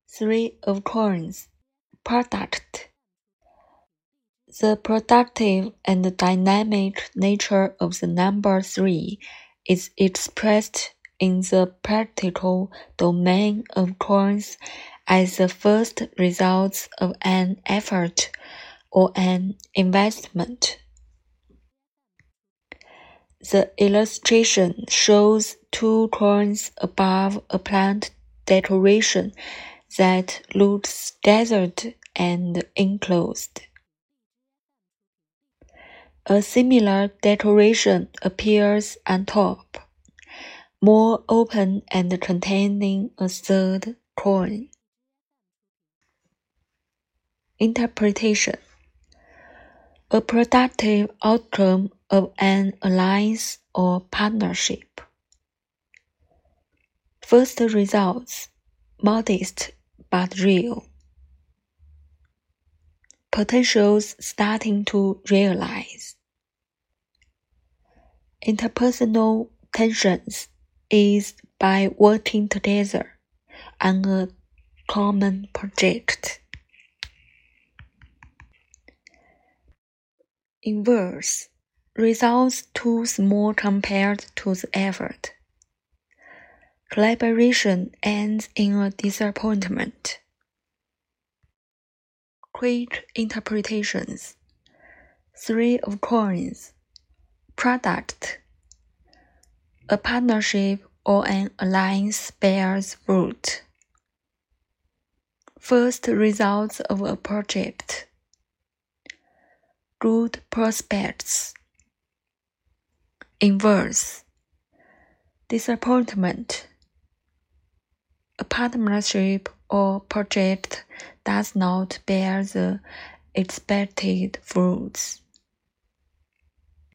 Three of coins. Product. The productive and dynamic nature of the number 3 is expressed in the practical domain of coins as the first results of an effort or an investment. The illustration shows 2 coins above a plant decoration that looks desert and enclosed. A similar decoration appears on top, more open and containing a third coin. Interpretation. A productive outcome of an alliance or partnership. First results, modest but real. Potentials starting to realize. Interpersonal tensions eased by working together on a common project. Inverse. Results too small compared to the effort. Collaboration ends in a disappointment. Quick interpretations. 3 of coins. Product. A partnership or an alliance bears fruit. First results of a project. Good prospects. Inverse. Disappointment. A partnership or project does not bear the expected fruits.